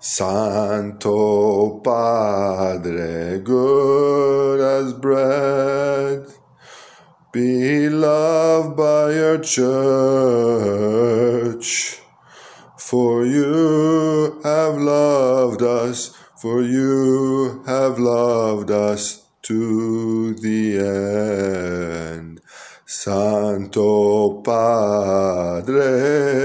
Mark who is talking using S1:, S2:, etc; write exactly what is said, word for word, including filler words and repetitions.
S1: Santo Padre, good as bread, be loved by your church, for you have loved us, for you have loved us to the end. Santo Padre,